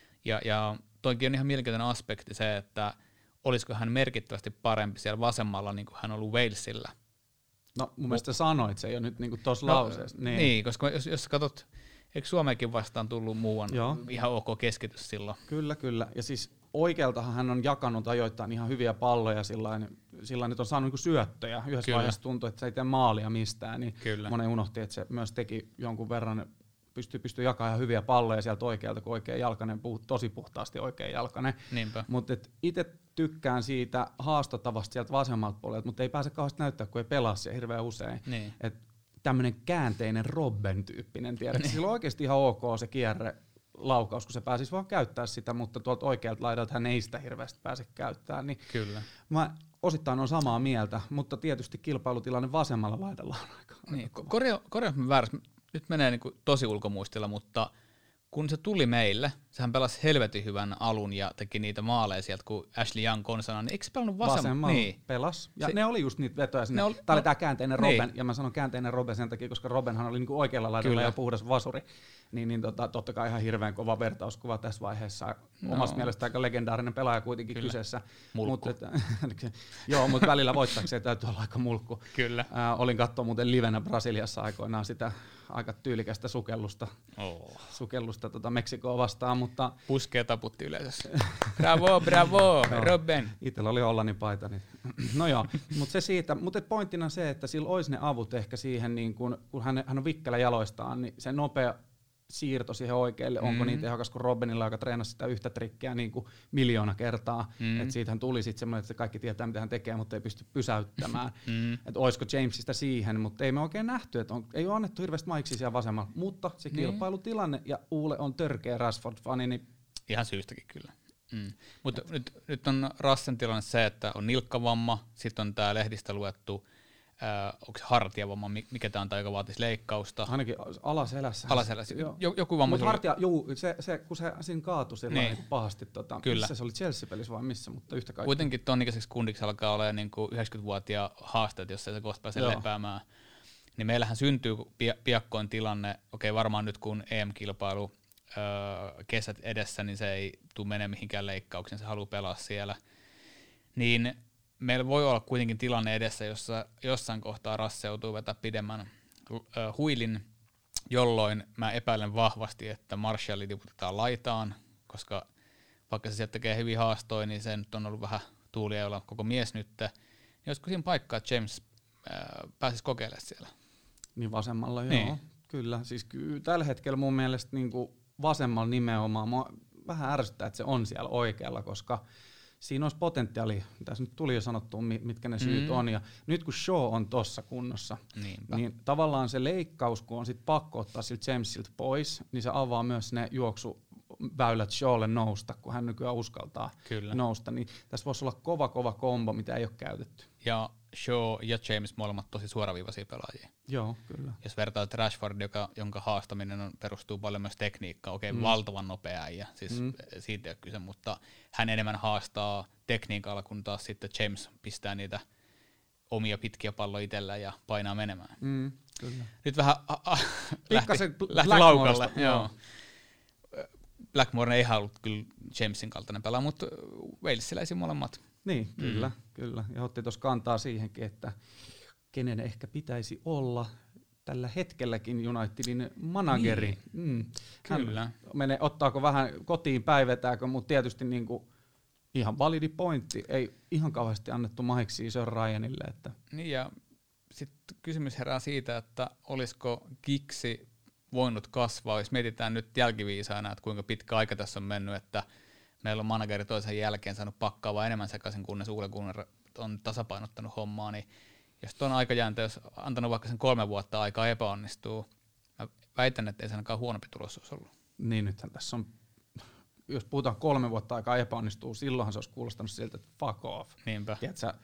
Speaker 3: Ja toinkin on ihan mielenkiintoinen aspekti se, että olisiko hän merkittävästi parempi siellä vasemmalla, niin kuin hän on ollut Walesilla.
Speaker 2: No mun mielestä sanoit se jo nyt niin kuin tuossa lauseessa.
Speaker 3: Niin, koska jos katsot, eikö Suomeenkin vastaan tullut muuan ihan ok keskitys silloin?
Speaker 2: Kyllä. Ja siis oikealtahan hän on jakanut ajoittain ihan hyviä palloja, sillä nyt on saanut niin syöttöjä. Yhdessä vaiheessa tuntui, että se ei tee maalia mistään, niin monen unohti, että se myös teki jonkun verran, pystyy jakamaan ihan hyviä palloja sieltä oikealta, kun oikea jalkainen, tosi puhtaasti oikea jalkainen. Mutta itse tykkään siitä haastatavasta sieltä vasemmalta puolelta, mutta ei pääse kauheasti näyttää, kun ei pelaa siellä hirveän usein.
Speaker 3: Niin.
Speaker 2: Tämmöinen käänteinen Robben-tyyppinen, tiedätkö? Sillä on oikeasti ihan ok se kierre laukaus, kun se pääsisi vaan käyttää sitä, mutta tuolta oikealta laidalta hän ei sitä hirveästi pääse käyttämään. Niin
Speaker 3: kyllä.
Speaker 2: Mä osittain on samaa mieltä, mutta tietysti kilpailutilanne vasemmalla laidalla on aika
Speaker 3: niin, korjaa väärässä. Nyt menee niin kuin tosi ulkomuistilla, mutta kun se tuli meille, sehän pelasi helvetin hyvän alun ja teki niitä maaleja sieltä, kun Ashley Young konsana, niin eikö se pelannut vasemmalla?
Speaker 2: Niin. Pelas. Ja ne oli just niitä vetoja sinne. Tää oli tää käänteinen Robben, ja mä sanon käänteinen Robben sen takia, koska Robbenhan oli niinku oikealla laidalla ja puhdas vasuri. Niin totta kai ihan hirveän kova vertauskuva tässä vaiheessa. Omasta mielestä aika legendaarinen pelaaja kuitenkin kyseessä.
Speaker 3: Mulkku.
Speaker 2: Joo, mutta välillä voittaakseen täytyy olla aika mulkku.
Speaker 3: Kyllä.
Speaker 2: Olin katsoa muuten livenä Brasiliassa aikoinaan sitä aika tyylikästä sukellusta Meksikoa vastaan, mutta
Speaker 3: puskea taputti yleisössä. Bravo, Robben.
Speaker 2: Itsellä oli Hollannin paita. Niin. No joo, mutta se siitä. Mutta pointtina se, että sillä olisi ne avut ehkä siihen, niin kun hän on vikkelä jaloistaan, niin se nopea siirto siihen oikealle, onko niin tehokas kuin Robbenilla, joka treenasi sitä yhtä trikkiä niin kuin 1,000,000 kertaa. Että siitähän tuli sitten semmoinen, että se kaikki tietää, mitä hän tekee, mutta ei pysty pysäyttämään. Että olisiko Jamesista siihen, mutta ei me oikein nähty, että ei ole annettu hirveästi maiksi siellä vasemmalla. Mutta se kilpailutilanne, ja Uule on törkeä Rashford-fani, niin
Speaker 3: ihan syystäkin kyllä. Mutta nyt on Rassen tilanne se, että on nilkkavamma, sitten on tämä lehdistä luettu, onko se hartiavamma, mikä tämä on, tai joka vaatisi leikkausta?
Speaker 2: Ainakin alaselässä.
Speaker 3: Joku vamma.
Speaker 2: Mutta hartia, kun se siinä kaatui niin pahasti. Missä se oli, Chelsea-pelissä vai missä, mutta yhtä kaikki.
Speaker 3: Kuitenkin ton ikäiseksi kundiksi alkaa olla niin 90-vuotiaan haasteet, jos ei se kohta pääse lepäämään. Niin meillähän syntyy piakkoin tilanne, varmaan nyt kun EM-kilpailu kesät edessä, niin se ei tule mene mihinkään leikkauksiin, se haluaa pelaa siellä. Niin meillä voi olla kuitenkin tilanne edessä, jossa jossain kohtaa Rasse joutuu vetämään pidemmän huilin, jolloin mä epäilen vahvasti, että Marshalli tiputetaan laitaan, koska vaikka se sieltä tekee hyviä haastoja, niin se nyt on ollut vähän tuulia olla koko mies nyt. Niin olisiko siinä paikkaa, että James pääsisi kokeilemaan siellä?
Speaker 2: Niin vasemmalla, joo. Kyllä. Siis tällä hetkellä mun mielestä niin kuin vasemmalla nimenomaan. Mua vähän ärsyttää, että se on siellä oikealla, koska siinä olisi potentiaali, tässä nyt tuli jo sanottua, mitkä ne syyt on, ja nyt kun Shaw on tossa kunnossa, niin tavallaan se leikkaus, kun on sit pakko ottaa siltä Jamesilta pois, niin se avaa myös ne juoksuväylät Shawlle nousta, kun hän nykyään uskaltaa nousta, niin tässä voisi olla kova kombo, mitä ei ole käytetty.
Speaker 3: Ja Shaw ja James molemmat tosi suoraviivaisia pelaajia.
Speaker 2: Joo, kyllä.
Speaker 3: Jos vertaat Rashford, jonka haastaminen perustuu paljon myös tekniikkaan, valtavan nopea ja siis siitä ei ole kyse, mutta hän enemmän haastaa tekniikalla, kun taas sitten James pistää niitä omia pitkiä palloja itsellä ja painaa menemään.
Speaker 2: Kyllä.
Speaker 3: Nyt vähän lähti laukalle. Joo. Blackmore ei ollut kyllä Jamesin kaltainen pelaa, mutta walesiläisiä molemmat.
Speaker 2: Niin, kyllä. Ja otti tuossa kantaa siihenkin, että kenen ehkä pitäisi olla tällä hetkelläkin Unitedin manageri.
Speaker 3: Niin. Kyllä.
Speaker 2: Ottaako vähän kotiin päivetääkö, mutta tietysti niinku ihan validi pointti. Ei ihan kauheasti annettu mahiksi Sir Ryanille. Että.
Speaker 3: Niin ja sitten kysymys herää siitä, että olisiko Gigsi voinut kasvaa, jos mietitään nyt jälkiviisaana, että kuinka pitkä aika tässä on mennyt, että meillä on manageri toisen jälkeen saanut pakkaa vaan enemmän sekaisin, kunnes Ole Gunnar on tasapainottanut hommaa, niin jos tuon aikajääntä, jos antanut vaikka sen 3 vuotta aikaa epäonnistuu, mä väitän, että ei se ainakaan huonompi tulos olisi ollut.
Speaker 2: Niin nythän tässä on, jos puhutaan 3 vuotta aikaa epäonnistuu, silloinhan se olisi kuulostanut siltä, että fuck off.
Speaker 3: Niinpä.
Speaker 2: Tiedätkö,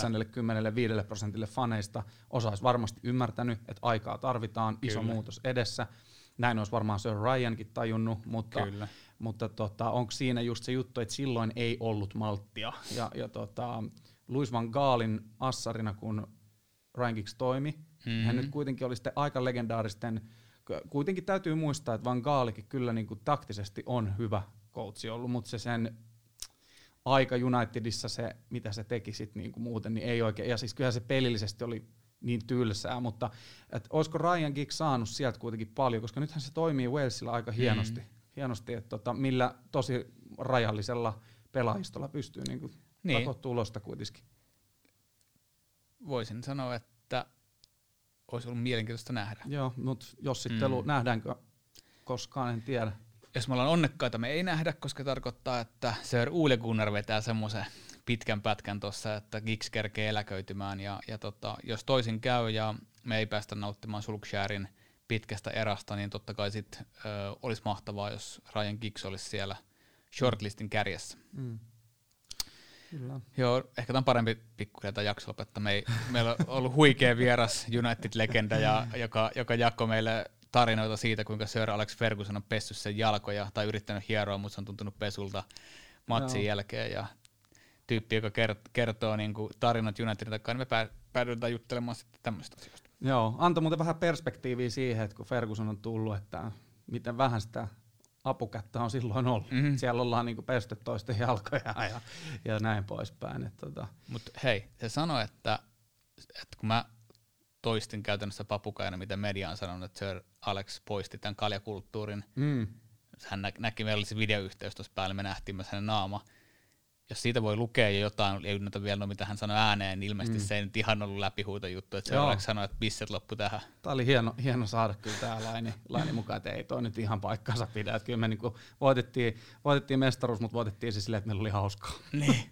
Speaker 2: 95% faneista olisi varmasti ymmärtänyt, että aikaa tarvitaan, iso muutos edessä. Näin olisi varmaan Sir Ryankin tajunnut, mutta onko siinä just se juttu, että silloin ei ollut malttia. Ja Louis van Gaalin assarina, kun Ryan Giggs toimi, hän nyt kuitenkin oli sitten aika legendaaristen. Kuitenkin täytyy muistaa, että Van Gaalikin kyllä niin kuin taktisesti on hyvä coachi ollut, mutta se sen aika Unitedissa, se mitä se teki sit niin kuin muuten, niin ei oikein. Ja siis kyllähän se pelillisesti oli niin tylsää, mutta olisiko Ryan Giggs saanut sieltä kuitenkin paljon, koska nythän se toimii Walesilla aika hienosti että millä tosi rajallisella pelaajistolla pystyy niin takoa tulosta kuitenkin.
Speaker 3: Voisin sanoa, että olisi ollut mielenkiintoista nähdä.
Speaker 2: Joo, mutta jossittelu nähdäänkö koskaan, en tiedä.
Speaker 3: Jos me ollaan onnekkaita, me ei nähdä, koska tarkoittaa, että Sir Ole Gunnar vetää semmoisen pitkän pätkän tuossa, että Giggs kerkee eläköitymään. Ja jos toisin käy ja me ei päästä nauttimaan Solskjærin pitkästä erasta, niin totta kai sit olisi mahtavaa, jos Ryan Giggs olisi siellä shortlistin kärjessä.
Speaker 2: Kyllä.
Speaker 3: Joo, ehkä tämä on parempi pikkuhiljaa tämä jakso lopettaa. Meillä on ollut huikea vieras United-legenda, joka jakoi meille tarinoita siitä, kuinka Sir Alex Ferguson on pessyt sen jalkoja tai yrittänyt hieroa, mutta se on tuntunut pesulta matsin jälkeen. Ja tyyppi, joka kertoo niin kuin tarinat Unitedin takaa, niin me päädytään juttelemaan sitten tämmöistä asioista.
Speaker 2: Joo, antoi muuten vähän perspektiiviä siihen, että kun Ferguson on tullut, että miten vähän sitä apukättä on silloin ollut. Siellä ollaan niinku pesty toisten jalkoja ja näin poispäin.
Speaker 3: Mutta hei, se sanoi, että kun mä toistin käytännössä papukaina, mitä media on sanonut, että Sir Alex poisti tämän kaljakulttuurin. Hän näki, meillä oli se videoyhteys tuossa päällä, me nähtiin myös hänen naama. Jos siitä voi lukea jo jotain, ei ynnätä vielä mitä hän sanoi ääneen, niin ilmeisesti se ei nyt ihan ollut läpihuuto juttu, että Sir Alex sanoi, että bisset loppu tähän.
Speaker 2: Tämä oli hieno saada kyllä tämä laini mukaan, että ei toi nyt ihan paikkansa pidä. Että kyllä me niinku voitettiin mestaruus, mutta voitettiin se silleen, että meillä oli hauskaa.
Speaker 3: Niin.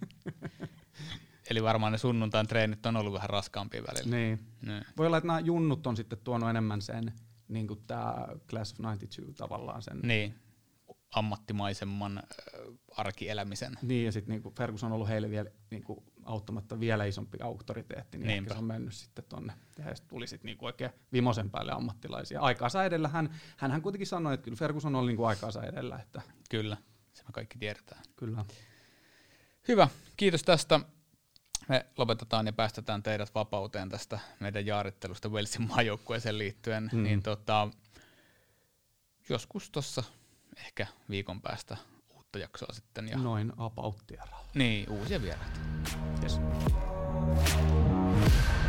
Speaker 3: Eli varmaan ne sunnuntain treenit on ollut vähän raskaampia välillä.
Speaker 2: Niin. Voi olla, että nämä junnut on sitten tuonut enemmän sen, niin kuin tämä Class of 92 tavallaan sen.
Speaker 3: Niin, ammattimaisemman arkielämisen.
Speaker 2: Niin, ja sitten niin Ferguson on ollut heille vielä niin auttamatta vielä isompi auktoriteetti, niin ehkä se on mennyt sitten tonne. Ja sitten tuli sitten niin oikein vimosen päälle ammattilaisia. Aikaansa edellä hän kuitenkin sanoi, että kyllä Ferguson oli niin aikaansa edellä. Että
Speaker 3: kyllä, se me kaikki tiedetään.
Speaker 2: Kyllä.
Speaker 3: Hyvä, kiitos tästä. Me lopetetaan ja päästetään teidät vapauteen tästä meidän jaarittelusta Walesin maajoukkueeseen liittyen. Niin joskus tuossa ehkä viikon päästä uutta jaksoa sitten. Ja
Speaker 2: noin about-vieralla.
Speaker 3: Niin, uusia vieraita.
Speaker 2: Yes.